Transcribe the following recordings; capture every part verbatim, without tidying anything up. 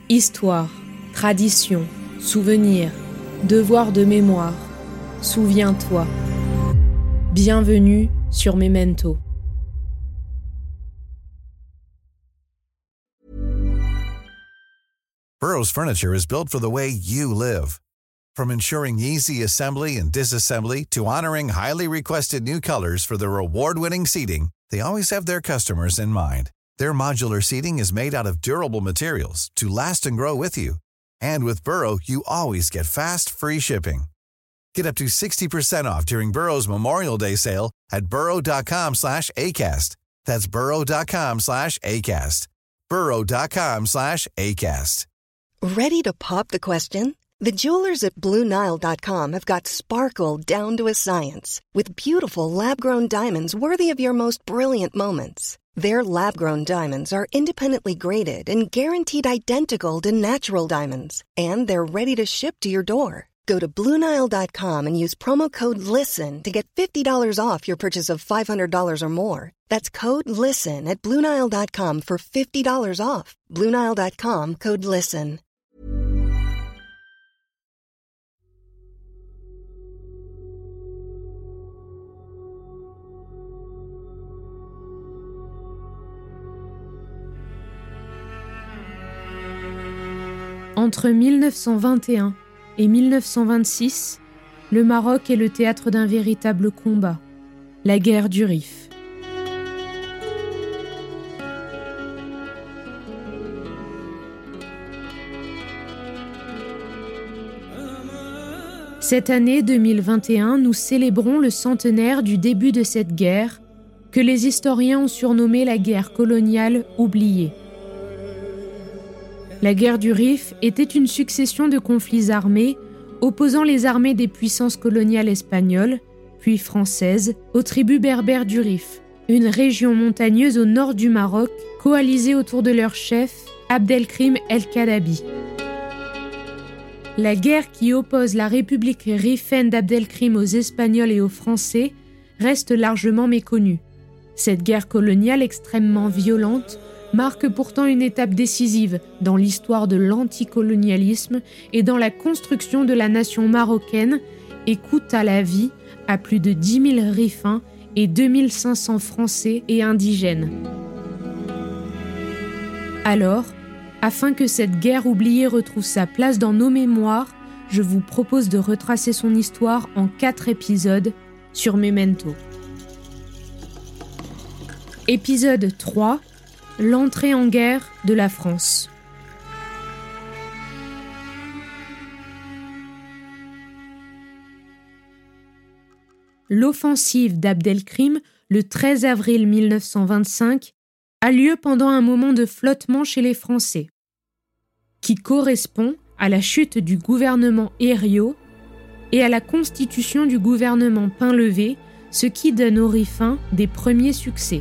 Histoire, tradition, souvenir, devoir de mémoire, souviens-toi. Bienvenue sur Memento. Burrow's furniture is built for the way you live. From ensuring easy assembly and disassembly to honoring highly requested new colors for their award-winning seating, they always have their customers in mind. Their modular seating is made out of durable materials to last and grow with you. And with Burrow, you always get fast, free shipping. Get up to sixty percent off during Burrow's Memorial Day sale at burrow.com slash ACAST. That's burrow.com slash ACAST. burrow.com slash ACAST. Ready to pop the question? The jewelers at Blue Nile dot com have got sparkle down to a science with beautiful lab-grown diamonds worthy of your most brilliant moments. Their lab-grown diamonds are independently graded and guaranteed identical to natural diamonds, and they're ready to ship to your door. Go to Blue Nile dot com and use promo code LISTEN to get fifty dollars off your purchase of five hundred dollars or more. That's code LISTEN at Blue Nile dot com for fifty dollars off. Blue Nile dot com, code LISTEN. Entre mille neuf cent vingt et un et mille neuf cent vingt-six, le Maroc est le théâtre d'un véritable combat, la guerre du Rif. Cette année deux mille vingt et un, nous célébrons le centenaire du début de cette guerre, que les historiens ont surnommée la guerre coloniale oubliée. La guerre du Rif était une succession de conflits armés opposant les armées des puissances coloniales espagnoles, puis françaises, aux tribus berbères du Rif, une région montagneuse au nord du Maroc, coalisée autour de leur chef, Abdelkrim el-Kadabi. La guerre qui oppose la République rifaine d'Abdelkrim aux Espagnols et aux Français reste largement méconnue. Cette guerre coloniale extrêmement violente marque pourtant une étape décisive dans l'histoire de l'anticolonialisme et dans la construction de la nation marocaine et coûta la vie à plus de dix mille Rifins et deux mille cinq cents Français et indigènes. Alors, afin que cette guerre oubliée retrouve sa place dans nos mémoires, je vous propose de retracer son histoire en quatre épisodes sur Memento. Épisode trois. L'entrée en guerre de la France. L'offensive d'Abdelkrim, le treize avril mille neuf cent vingt-cinq, a lieu pendant un moment de flottement chez les Français, qui correspond à la chute du gouvernement Herriot et à la constitution du gouvernement Painlevé, ce qui donne aux Rifins des premiers succès.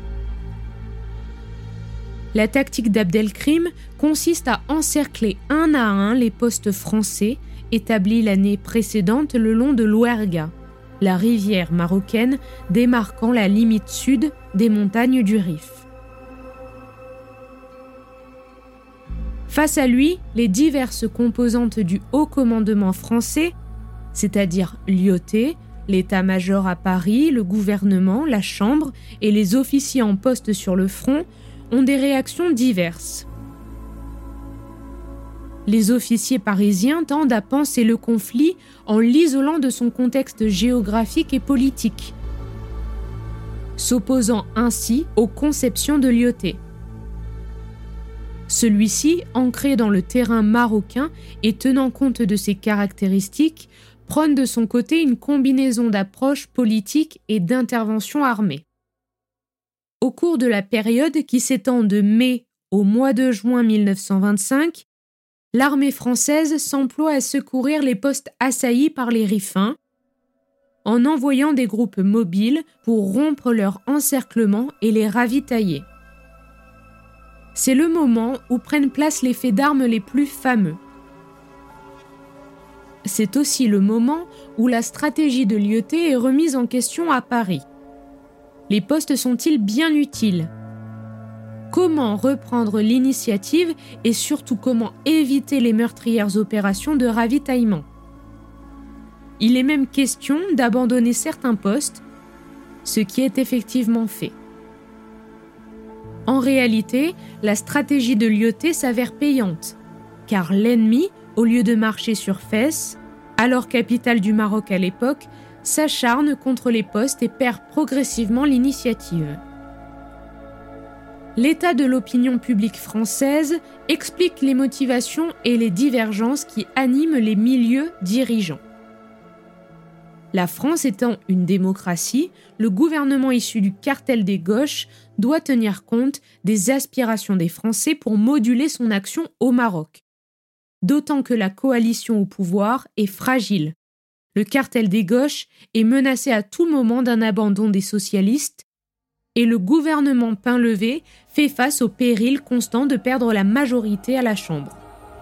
La tactique d'Abdelkrim consiste à encercler un à un les postes français établis l'année précédente le long de l'Ouerga, la rivière marocaine démarquant la limite sud des montagnes du Rif. Face à lui, les diverses composantes du haut commandement français, c'est-à-dire l'I O T, l'état-major à Paris, le gouvernement, la Chambre et les officiers en poste sur le front, ont des réactions diverses. Les officiers parisiens tendent à penser le conflit en l'isolant de son contexte géographique et politique, s'opposant ainsi aux conceptions de l'I O T. Celui-ci, ancré dans le terrain marocain et tenant compte de ses caractéristiques, prône de son côté une combinaison d'approches politiques et d'interventions armées. Au cours de la période qui s'étend de mai au mois de juin mille neuf cent vingt-cinq, l'armée française s'emploie à secourir les postes assaillis par les Rifins, en envoyant des groupes mobiles pour rompre leur encerclement et les ravitailler. C'est le moment où prennent place les faits d'armes les plus fameux. C'est aussi le moment où la stratégie de l'I O T est remise en question à Paris. Les postes sont-ils bien utiles ? comment reprendre l'initiative et surtout comment éviter les meurtrières opérations de ravitaillement. Il est même question d'abandonner certains postes, ce qui est effectivement fait. En réalité, la stratégie de Lyautey s'avère payante, car l'ennemi, au lieu de marcher sur Fès, alors capitale du Maroc à l'époque, s'acharne contre les postes et perd progressivement l'initiative. L'état de l'opinion publique française explique les motivations et les divergences qui animent les milieux dirigeants. La France étant une démocratie, le gouvernement issu du cartel des gauches doit tenir compte des aspirations des Français pour moduler son action au Maroc. D'autant que la coalition au pouvoir est fragile. Le cartel des gauches est menacé à tout moment d'un abandon des socialistes et le gouvernement Painlevé fait face au péril constant de perdre la majorité à la Chambre.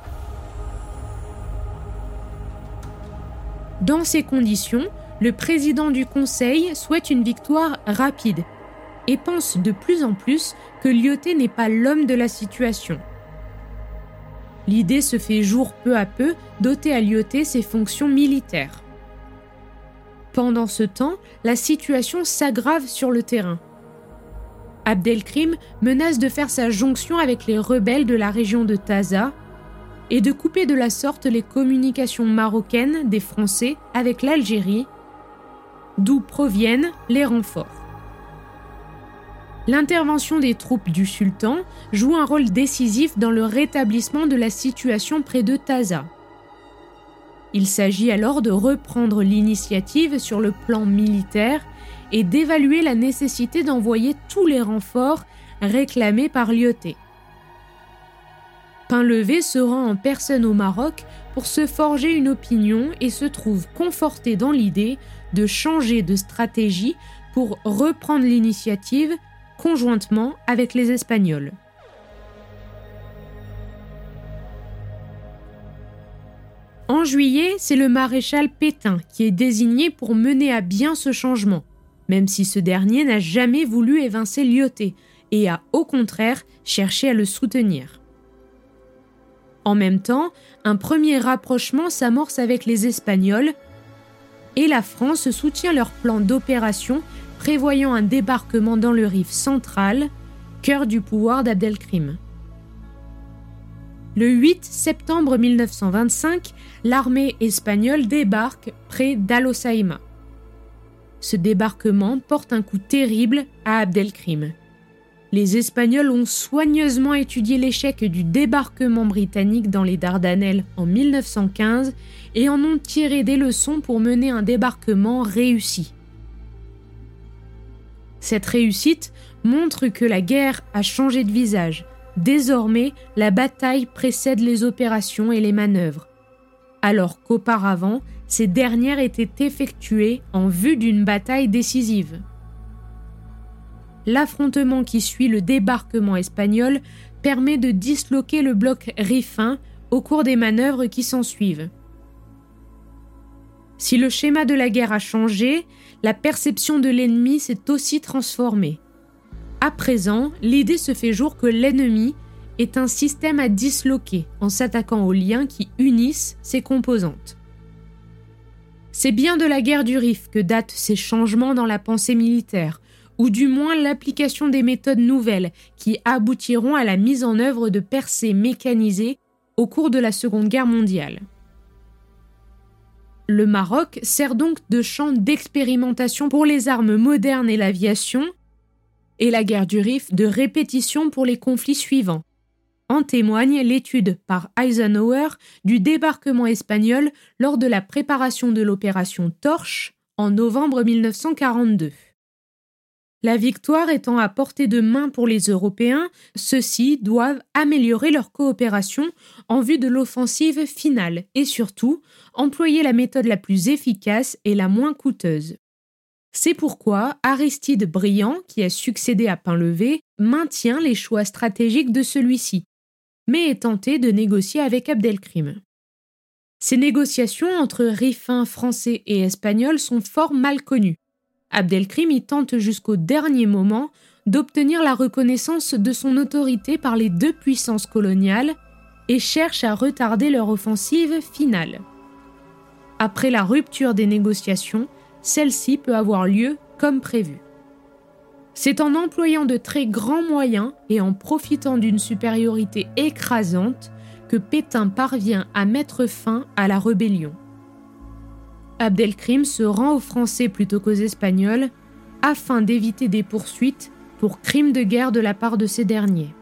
Dans ces conditions, le président du Conseil souhaite une victoire rapide et pense de plus en plus que Lyautey n'est pas l'homme de la situation. L'idée se fait jour peu à peu d'ôter à Lyautey ses fonctions militaires. Pendant ce temps, la situation s'aggrave sur le terrain. Abdelkrim menace de faire sa jonction avec les rebelles de la région de Taza et de couper de la sorte les communications marocaines des Français avec l'Algérie, d'où proviennent les renforts. L'intervention des troupes du sultan joue un rôle décisif dans le rétablissement de la situation près de Taza. Il s'agit alors de reprendre l'initiative sur le plan militaire et d'évaluer la nécessité d'envoyer tous les renforts réclamés par Lyautey. Painlevé se rend en personne au Maroc pour se forger une opinion et se trouve conforté dans l'idée de changer de stratégie pour reprendre l'initiative conjointement avec les Espagnols. En juillet, c'est le maréchal Pétain qui est désigné pour mener à bien ce changement, même si ce dernier n'a jamais voulu évincer Lyautey et a au contraire cherché à le soutenir. En même temps, un premier rapprochement s'amorce avec les Espagnols et la France soutient leur plan d'opération prévoyant un débarquement dans le Rif central, cœur du pouvoir d'Abdelkrim. Le huit septembre mille neuf cent vingt-cinq, l'armée espagnole débarque près d'Al-Hoceïma. Ce débarquement porte un coup terrible à Abdelkrim. Les Espagnols ont soigneusement étudié l'échec du débarquement britannique dans les Dardanelles en mille neuf cent quinze et en ont tiré des leçons pour mener un débarquement réussi. Cette réussite montre que la guerre a changé de visage. Désormais, la bataille précède les opérations et les manœuvres, alors qu'auparavant, ces dernières étaient effectuées en vue d'une bataille décisive. L'affrontement qui suit le débarquement espagnol permet de disloquer le bloc rifin au cours des manœuvres qui s'ensuivent. Si le schéma de la guerre a changé, la perception de l'ennemi s'est aussi transformée. À présent, l'idée se fait jour que l'ennemi est un système à disloquer en s'attaquant aux liens qui unissent ses composantes. C'est bien de la guerre du Rif que datent ces changements dans la pensée militaire, ou du moins l'application des méthodes nouvelles qui aboutiront à la mise en œuvre de percées mécanisées au cours de la Seconde Guerre mondiale. Le Maroc sert donc de champ d'expérimentation pour les armes modernes et l'aviation, et la guerre du Rif de répétition pour les conflits suivants. En témoigne l'étude par Eisenhower du débarquement espagnol lors de la préparation de l'opération Torche en novembre mille neuf cent quarante-deux. La victoire étant à portée de main pour les Européens, ceux-ci doivent améliorer leur coopération en vue de l'offensive finale et surtout employer la méthode la plus efficace et la moins coûteuse. C'est pourquoi Aristide Briand, qui a succédé à Painlevé, maintient les choix stratégiques de celui-ci, mais est tenté de négocier avec Abdelkrim. Ces négociations entre rifins français et espagnols sont fort mal connues. Abdelkrim y tente jusqu'au dernier moment d'obtenir la reconnaissance de son autorité par les deux puissances coloniales et cherche à retarder leur offensive finale. Après la rupture des négociations, celle-ci peut avoir lieu comme prévu. C'est en employant de très grands moyens et en profitant d'une supériorité écrasante que Pétain parvient à mettre fin à la rébellion. Abdelkrim se rend aux Français plutôt qu'aux Espagnols afin d'éviter des poursuites pour crimes de guerre de la part de ces derniers.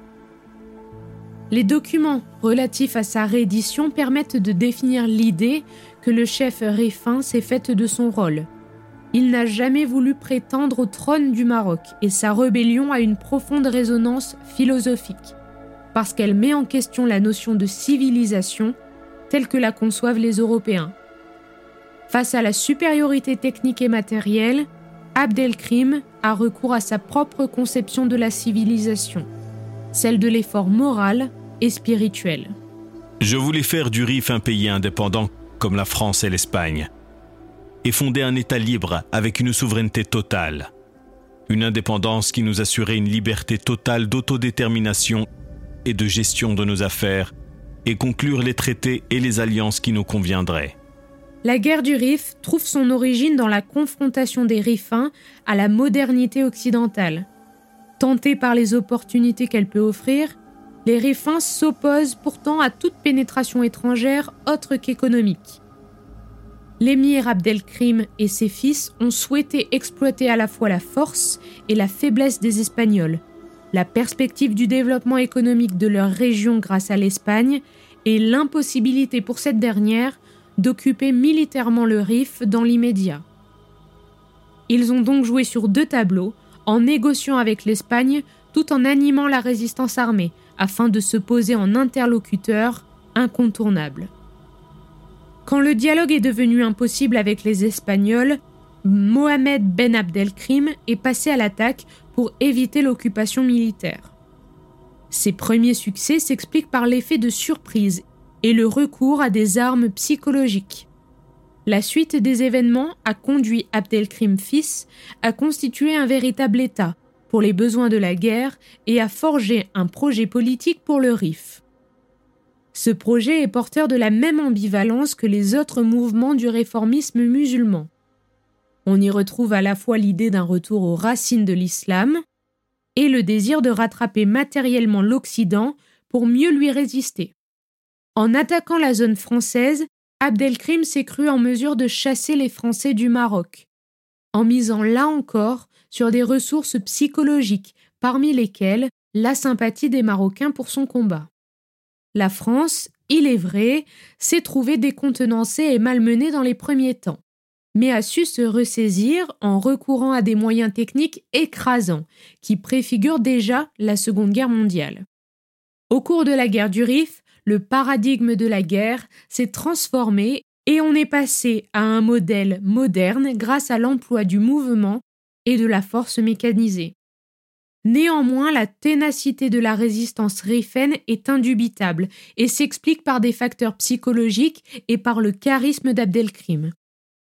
Les documents relatifs à sa reddition permettent de définir l'idée que le chef Rifain s'est faite de son rôle. Il n'a jamais voulu prétendre au trône du Maroc et sa rébellion a une profonde résonance philosophique, parce qu'elle met en question la notion de civilisation telle que la conçoivent les Européens. Face à la supériorité technique et matérielle, Abdelkrim a recours à sa propre conception de la civilisation, celle de l'effort moral et spirituel. Je voulais faire du Rif un pays indépendant comme la France et l'Espagne, et fonder un État libre avec une souveraineté totale. Une indépendance qui nous assurait une liberté totale d'autodétermination et de gestion de nos affaires, et conclure les traités et les alliances qui nous conviendraient. La guerre du Rif trouve son origine dans la confrontation des Rifins à la modernité occidentale. Tentés par les opportunités qu'elle peut offrir, les Rifins s'opposent pourtant à toute pénétration étrangère autre qu'économique. L'émir Abdelkrim et ses fils ont souhaité exploiter à la fois la force et la faiblesse des Espagnols, la perspective du développement économique de leur région grâce à l'Espagne et l'impossibilité pour cette dernière d'occuper militairement le Rif dans l'immédiat. Ils ont donc joué sur deux tableaux, en négociant avec l'Espagne tout en animant la résistance armée, afin de se poser en interlocuteur incontournable. Quand le dialogue est devenu impossible avec les Espagnols, Mohamed Ben Abdelkrim est passé à l'attaque pour éviter l'occupation militaire. Ses premiers succès s'expliquent par l'effet de surprise et le recours à des armes psychologiques. La suite des événements a conduit Abdelkrim fils à constituer un véritable État pour les besoins de la guerre et à forger un projet politique pour le Rif. Ce projet est porteur de la même ambivalence que les autres mouvements du réformisme musulman. On y retrouve à la fois l'idée d'un retour aux racines de l'islam et le désir de rattraper matériellement l'Occident pour mieux lui résister. En attaquant la zone française, Abdelkrim s'est cru en mesure de chasser les Français du Maroc, en misant là encore sur des ressources psychologiques, parmi lesquelles la sympathie des Marocains pour son combat. La France, il est vrai, s'est trouvée décontenancée et malmenée dans les premiers temps, mais a su se ressaisir en recourant à des moyens techniques écrasants qui préfigurent déjà la Seconde Guerre mondiale. Au cours de la guerre du Rif, le paradigme de la guerre s'est transformé et on est passé à un modèle moderne grâce à l'emploi du mouvement et de la force mécanisée. Néanmoins, la ténacité de la résistance rifaine est indubitable et s'explique par des facteurs psychologiques et par le charisme d'Abdelkrim.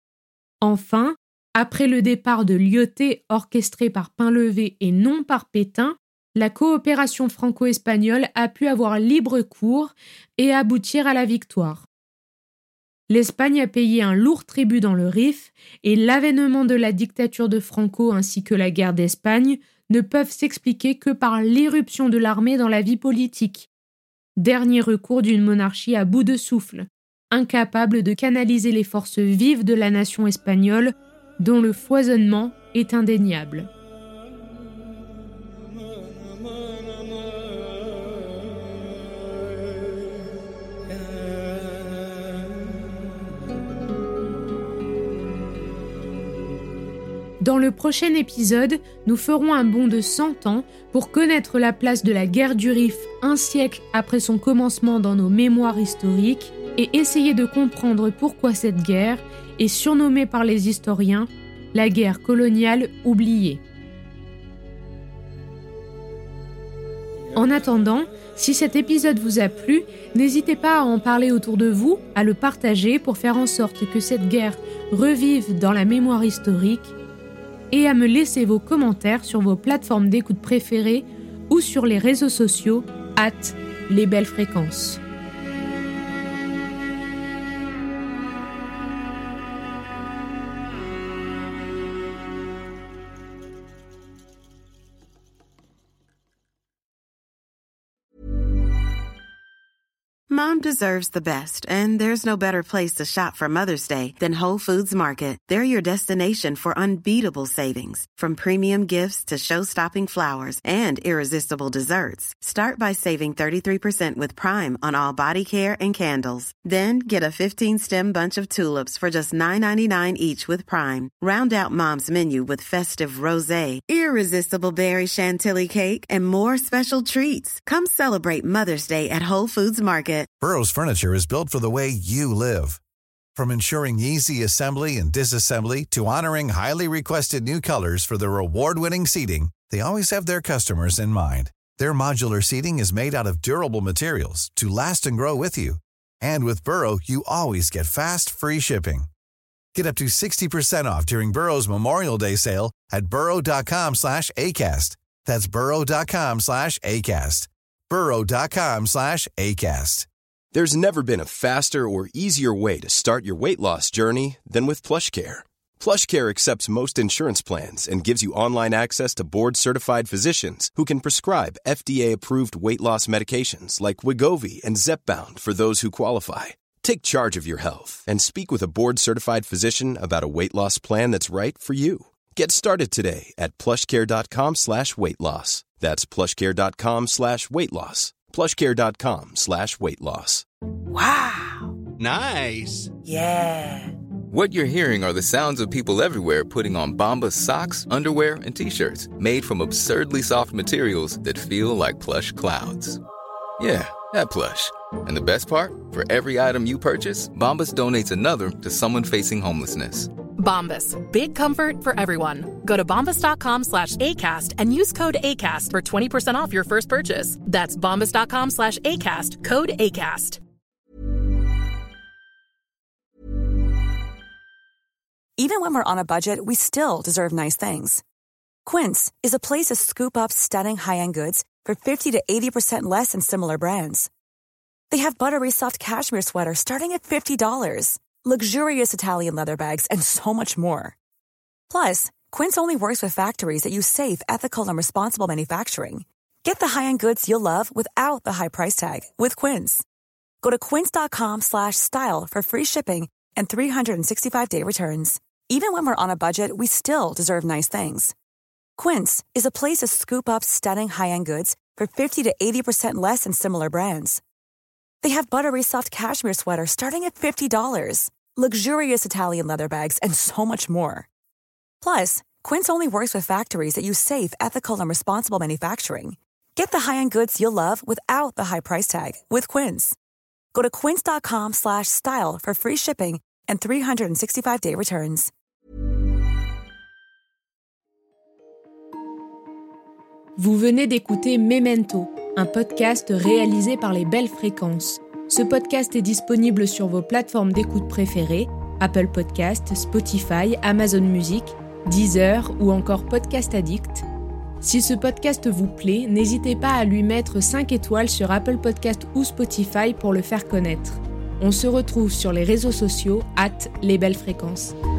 Enfin, après le départ de Lyautey orchestré par Painlevé et non par Pétain, la coopération franco-espagnole a pu avoir libre cours et aboutir à la victoire. L'Espagne a payé un lourd tribut dans le Rif et l'avènement de la dictature de Franco ainsi que la guerre d'Espagne ne peuvent s'expliquer que par l'irruption de l'armée dans la vie politique, dernier recours d'une monarchie à bout de souffle, incapable de canaliser les forces vives de la nation espagnole dont le foisonnement est indéniable. Dans le prochain épisode, nous ferons un bond de cent ans pour connaître la place de la guerre du Rif un siècle après son commencement dans nos mémoires historiques et essayer de comprendre pourquoi cette guerre est surnommée par les historiens la guerre coloniale oubliée. En attendant, si cet épisode vous a plu, n'hésitez pas à en parler autour de vous, à le partager pour faire en sorte que cette guerre revive dans la mémoire historique et à me laisser vos commentaires sur vos plateformes d'écoute préférées ou sur les réseaux sociaux arobase les belles fréquences. Mom deserves the best, and there's no better place to shop for Mother's Day than Whole Foods Market. They're your destination for unbeatable savings, from premium gifts to show-stopping flowers and irresistible desserts. Start by saving thirty-three percent with Prime on all body care and candles. Then get a fifteen-stem bunch of tulips for just nine ninety-nine each with Prime. Round out Mom's menu with festive rosé, irresistible berry chantilly cake, and more special treats. Come celebrate Mother's Day at Whole Foods Market. Burrow's furniture is built for the way you live. From ensuring easy assembly and disassembly to honoring highly requested new colors for their award-winning seating, they always have their customers in mind. Their modular seating is made out of durable materials to last and grow with you. And with Burrow, you always get fast, free shipping. Get up to sixty percent off during Burrow's Memorial Day sale at burrow.com slash ACAST. That's burrow.com slash ACAST. burrow.com slash ACAST. There's never been a faster or easier way to start your weight loss journey than with PlushCare. PlushCare accepts most insurance plans and gives you online access to board-certified physicians who can prescribe F D A-approved weight loss medications like Wegovy and Zepbound for those who qualify. Take charge of your health and speak with a board-certified physician about a weight loss plan that's right for you. Get started today at plushcare.com slash weight loss. That's plushcare.com slash weight loss. plushcare.com slash weight loss. Wow. Nice. Yeah. What you're hearing are the sounds of people everywhere putting on Bombas socks, underwear, and T-shirts made from absurdly soft materials that feel like plush clouds. Yeah, that plush. And the best part? For every item you purchase, Bombas donates another to someone facing homelessness. Bombas. Big comfort for everyone. Go to bombas.com slash ACAST and use code ACAST for twenty percent off your first purchase. That's bombas.com slash ACAST. Code ACAST. Even when we're on a budget, we still deserve nice things. Quince is a place to scoop up stunning high-end goods for fifty to eighty percent less than similar brands. They have buttery soft cashmere sweaters starting at fifty dollars. Luxurious Italian leather bags, and so much more. Plus, Quince only works with factories that use safe, ethical, and responsible manufacturing. Get the high-end goods you'll love without the high price tag with Quince. Go to quince.com slash style for free shipping and three sixty-five day returns. Even when we're on a budget, we still deserve nice things. Quince is a place to scoop up stunning high-end goods for fifty to eighty percent less than similar brands. They have buttery soft cashmere sweaters starting at fifty dollars, luxurious Italian leather bags, and so much more. Plus, Quince only works with factories that use safe, ethical, and responsible manufacturing. Get the high-end goods you'll love without the high price tag with Quince. Go to quince.com slash style for free shipping and three sixty-five day returns. Vous venez d'écouter Memento, un podcast réalisé par les Belles Fréquences. Ce podcast est disponible sur vos plateformes d'écoute préférées, Apple Podcasts, Spotify, Amazon Music, Deezer ou encore Podcast Addict. Si ce podcast vous plaît, n'hésitez pas à lui mettre cinq étoiles sur Apple Podcasts ou Spotify pour le faire connaître. On se retrouve sur les réseaux sociaux arobase les belles fréquences.